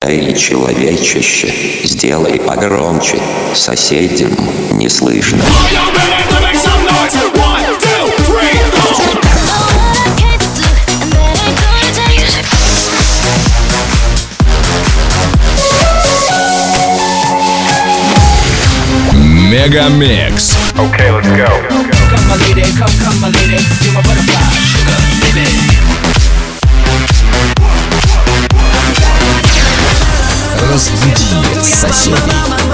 Эй, человечище, сделай погромче, соседям не слышно. Мегамикс. Okay, let's go. Come my lady, come my lady, you're my butterfly, sugar, baby. Разбуди соседей.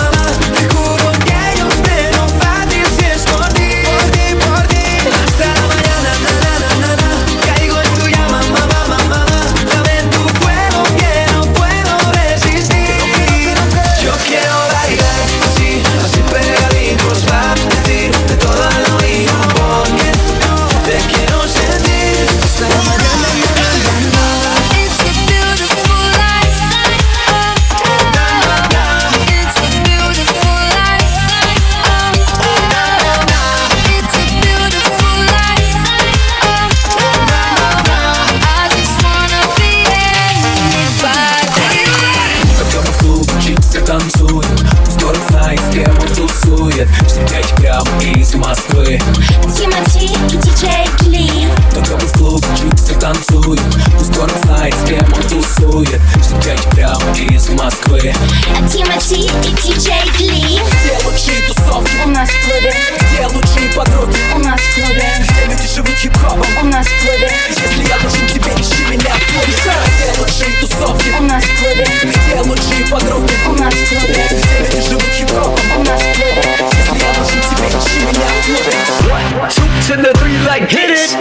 Встречать прямо из Москвы. Тимати и диджей Кли. Только мы в клуб чиксы танцуют. Пусть город знает, с кем он тусует. Встречать прямо из Москвы. Тимати и диджей Кли. Где лучшие тусовки? У нас в клубе. Где лучшие подруги? У нас в клубе. Где люди живут хип-хопом? У нас в клубе. Если я нужен тебе, ищи меня в клубе. Где лучшие тусовки? У нас в клубе. Где лучшие подруги? У нас в клубе. Где люди живут хип-хопом? У нас в клубе. Если я нужен тебе, ищи меня в клубе. 2 to the 3, like hit it.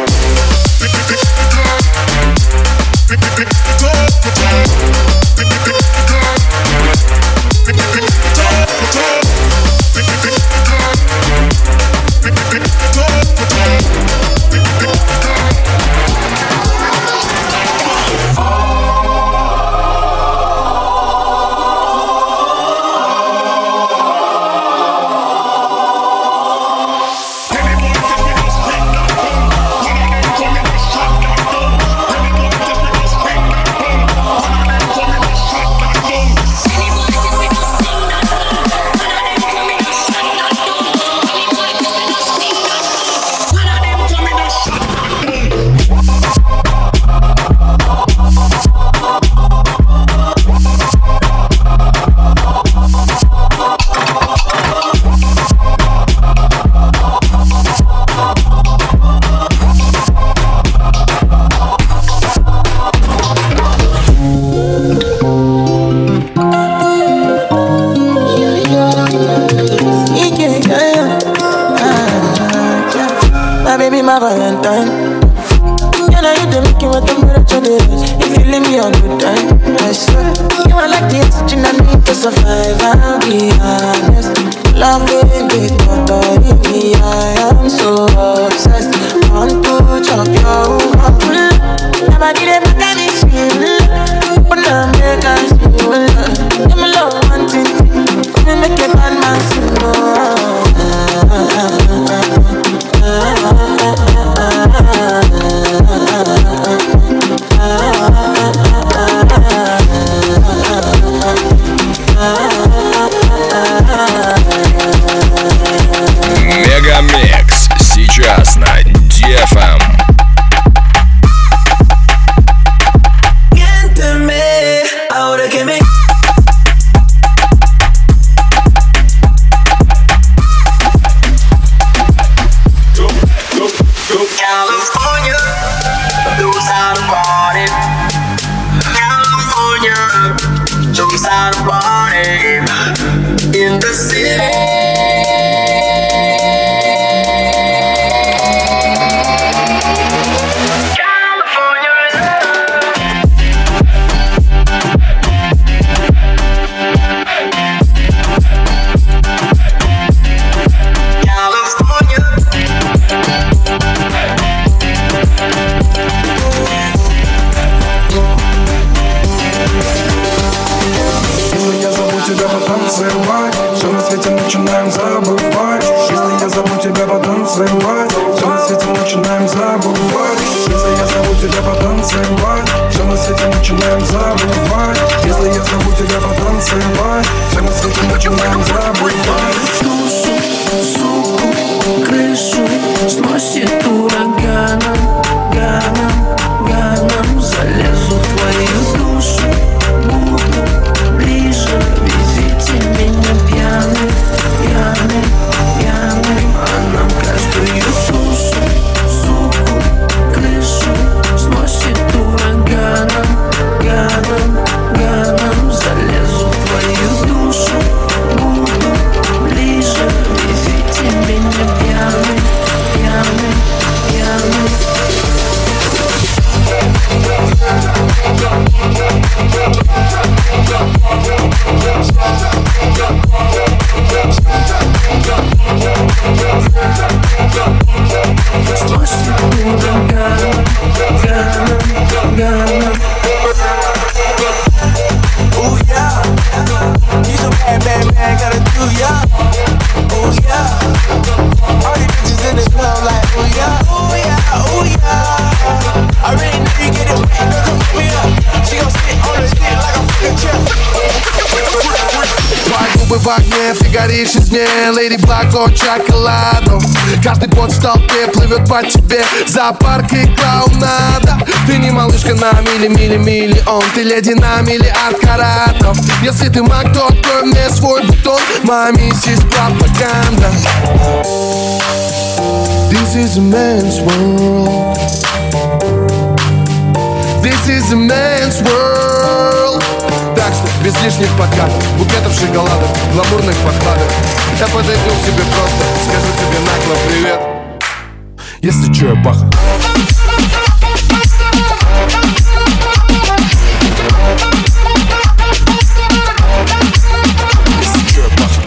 My Valentine. You know you do make you want to be rich on it. If you leave me a good time, I swear. You are like the oxygen I need to survive. I'll be honest. Love it, big body me. I am so obsessed. Want to chop your heart. Never did it back at this shit. But now make us feel. Give me love one thing. Let me make a bad man sing. Мегамикс сейчас на DFM. Miénteme, ahora que me California, those are the party. California, those are the party. In the city. Все на свете начинаем забывать. Если я зову тебя потанцевать, все на свете начинаем забывать. Если я зову тебя потанцевать, все на на свете начинаем забывать. Если я зову тебя потанцевать, все на свете начинаем забывать. Душу, суку, крышу сносит ураганом, ганом. Залезу в твою душу, буду ближе. Везите меня пьяным, а нам каждую душу, суку, крышу сносит ураганом, залезу в твою душу, буду ближе. Везите меня пьяным. Ooh yeah, you so bad, gotta do ya. Ooh yeah, all these bitches in the club like ooh yeah. I really know you get it wet, girl, come pick me up. She gon' sit on the dick like a fucking chair. Твои губы в огне, ты горишь из мне, Леди Баг от шоколаду. Каждый пот в толпе плывет по тебе. Зоопарк и клоунада. Ты не малышка на миллион. Ты леди на миллиард каратов. Если ты маг, то открой мне свой бутон. Моя миссис пропаганда. This is a man's world. This is a man's world. Так что без лишних подкатов, букетов шоколадок, гламурных подкладок. Я подойду к тебе просто, скажу тебе нагло привет. Если чё, я баха. Если чё, я баха.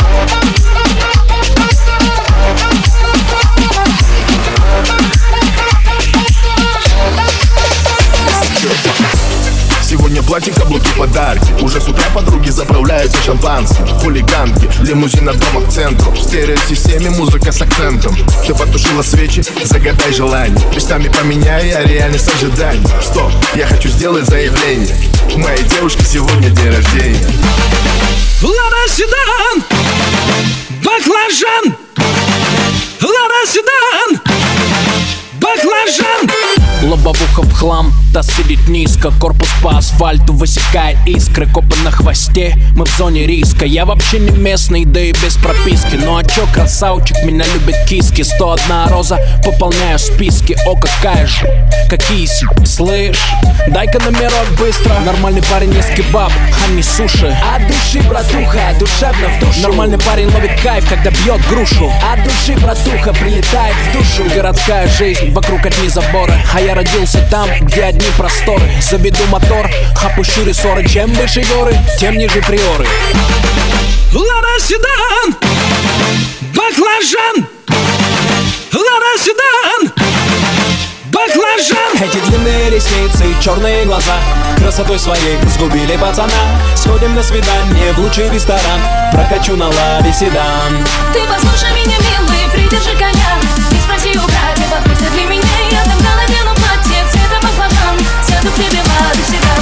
Сегодня платье, каблуки, подарки. Уже с утра подруги заправляются шампанским. Хулиганки, лимузин от дома к центру. В стереосистеме музыка с акцентом. Ты потушила свечи, загадай желание. Местами поменяй, а реальность ожиданий. Стоп, я хочу сделать заявление. У моей девушки сегодня день рождения. Лада седан, баклажан. Лада седан, баклажан. Лобовуха в хлам, таз сидит низко. Корпус по асфальту высекает искры. Копы на хвосте, мы в зоне риска. Я вообще не местный, да и без прописки. Ну а чё, красавчик, меня любят киски. 101 роза, пополняю списки. О, какая же, какие слышь, дай-ка номерок быстро. Нормальный парень ест кебаб, а не суши. От души, братуха, душевно в душу. Нормальный парень ловит кайф, когда бьет грушу. От души, братуха, прилетает в душу. Городская жизнь, вокруг одни заборы. А я родился там, где одни просторы. Заведу мотор, опущу рессоры. Чем выше горы, тем ниже приоры. Лада седан, баклажан. Лада седан, баклажан. Эти длинные ресницы, черные глаза красотой своей сгубили пацана. Сходим на свидание в лучший ресторан. Прокачу на ладе седан. Ты послушай меня, милый, придержи коня. Не спроси у брата, подпустят ли меня. Я тогда надену платье цвета баклажан. Сяду к тебе в ладе седан.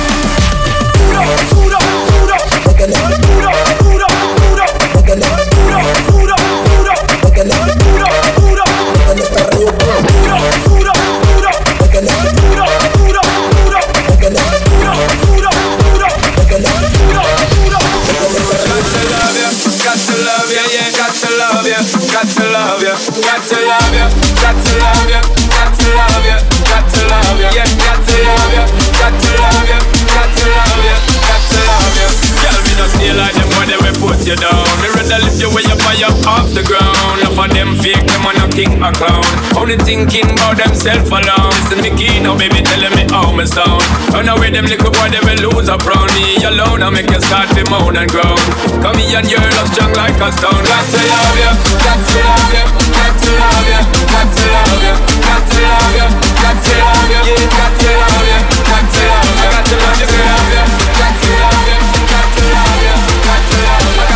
You down, me rather lift you way up higher off the ground. Enough of them fake, them on a king a clown. Only thinking about themself alone. Listen me key now, baby, telling me how me sound. Run away them little boy, they will lose up round me alone. I make you start to moan and groan. Come here and your love strong like a stone. Got to love you, got to love you, got to love you, got to love you, got to love you, got to love you, yeah, got to love you, got to love you, got to love you, got to love you, got to love you, got to love you, got to love you.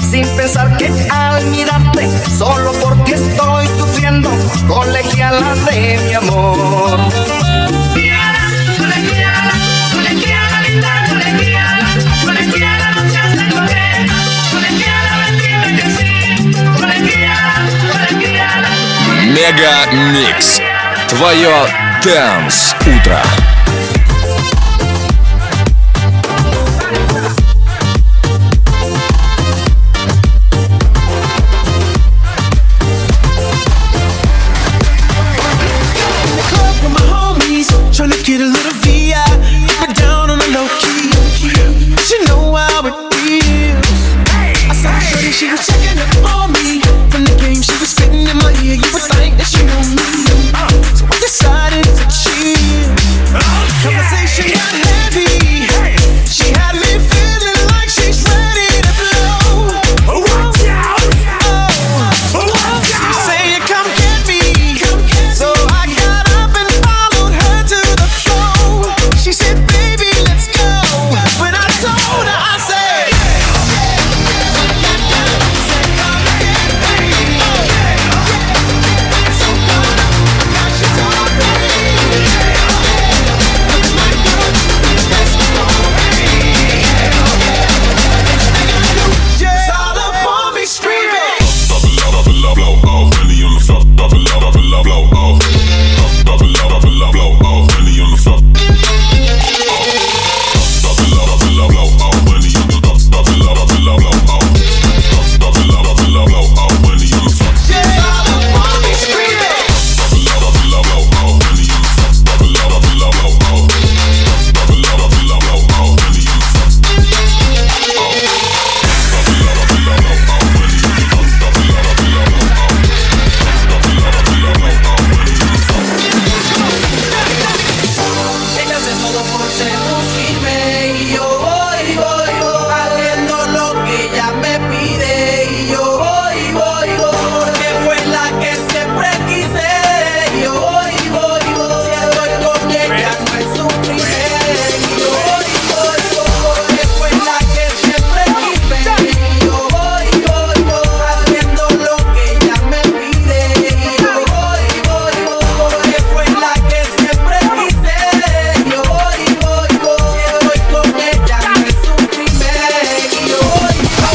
sin pensar que al mirarte solo por ti estoy sufriendo, colegiala de mi amor. Мега Микс. Твое Dance утро. Tryna get a little VI, but down on the low key. She know how it feels. I saw her shorty, she was checking up on me. From the game, she was spitting in my ear. You would think that she knew me. So I decided to chill. Conversation got heavy. She had me feeling like she's ready to blow. Watch out! She saying, "Come get me." So I got up and followed her to the floor. She said, "Baby, let's go." When I told her, I said, it's all up on me screaming. Ella hace todo por seducirme y yo voy, haciendo lo que ella me pide y yo voy, porque fue la que siempre quise y yo voy, si estoy con ella no es un crimen y yo voy, porque fue la que siempre quise y yo voy, haciendo lo que ella me pide y yo voy, porque fue la que siempre quise y yo voy, si estoy con ella no es un crimen y yo voy.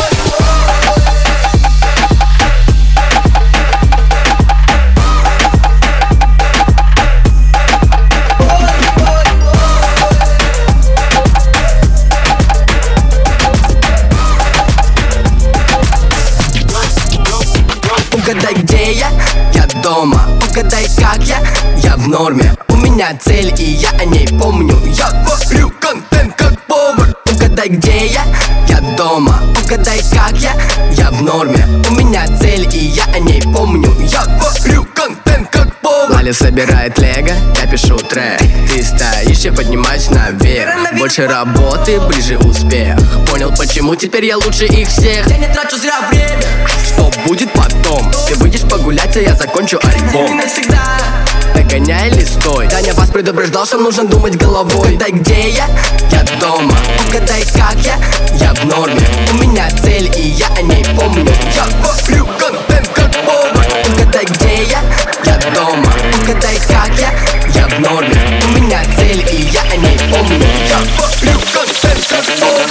Угадай, где я? Я дома. Угадай, как я в норме. У меня цель, и я о ней помню. Я варю контент как повар. Угадай, где я? Я дома. Угадай, как я в норме. У меня цель, и я о ней помню. Я варю контент как повар. Лаля собирает лего, я пишу трек. Ты стоишь, я поднимаюсь наверх. Больше работы, ближе успех. Понял, почему теперь я лучше их всех. Я не трачу зря время. Что будет потом? Ты выйдешь погулять, а я закончу альбом. Догоняй или стой. Таня вас предупреждал, что нужно думать головой. Угадай, где я? Я дома. Угадай, как я в норме. У меня цель, и я о ней помню. Я варю контент как повар. Угадай, где я? Я дома. Угадай, как я в норме. У меня цель, и я о ней помню. Я варю контент как повар.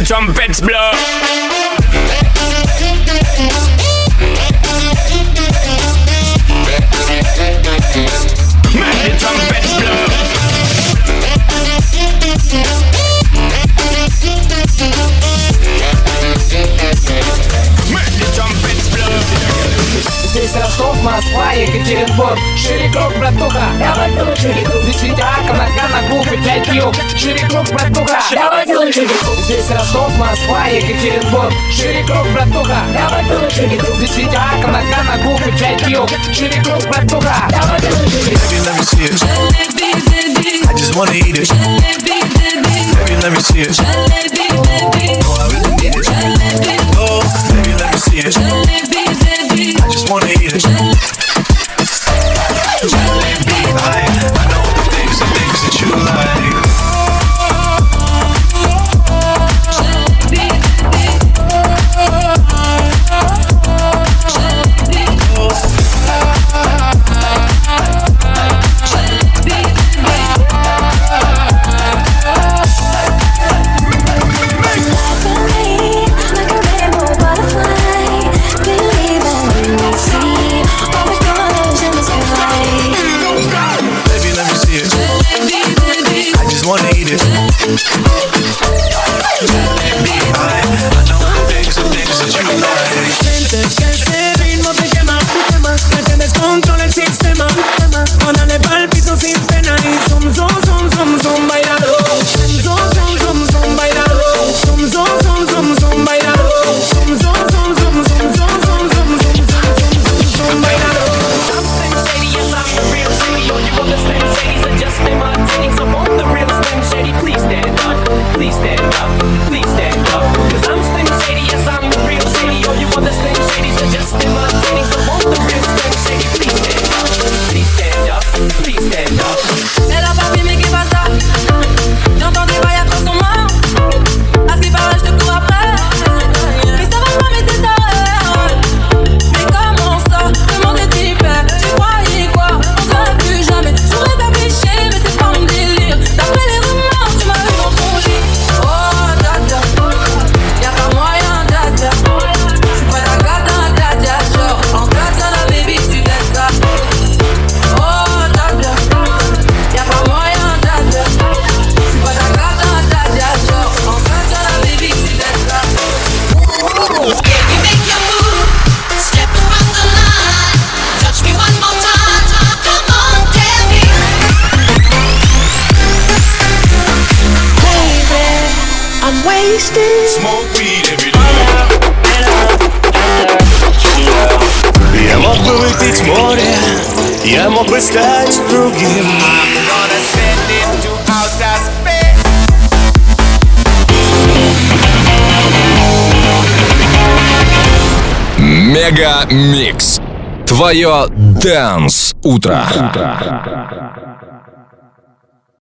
trumpets blow. Make the trumpets blow. Make the trumpets blow. Здесь Ростов, Москва, Екатеринбург. Шире круг, братуха. Давай делай шире круг. Здесь Витяка, Нагана, Гуф и 5 килл. Шире круг, братуха. Давай делай шире круг. Здесь Ростов, Москва, Екатеринбург. Шире круг, братуха. Давай делай шире круг. Здесь Витяка, Нагана, Гуф и 5 килл. Шире круг, братуха. Давай делай шире круг. Baby, let me see it. I just wanna eat it. Baby, let me see it. Oh, I really need it. Oh, baby, let me see it. I just wanna eat it. I know the things that you like. Я мог бы выпить море, я мог бы стать другим. Мега Микс. Твое Dance утро.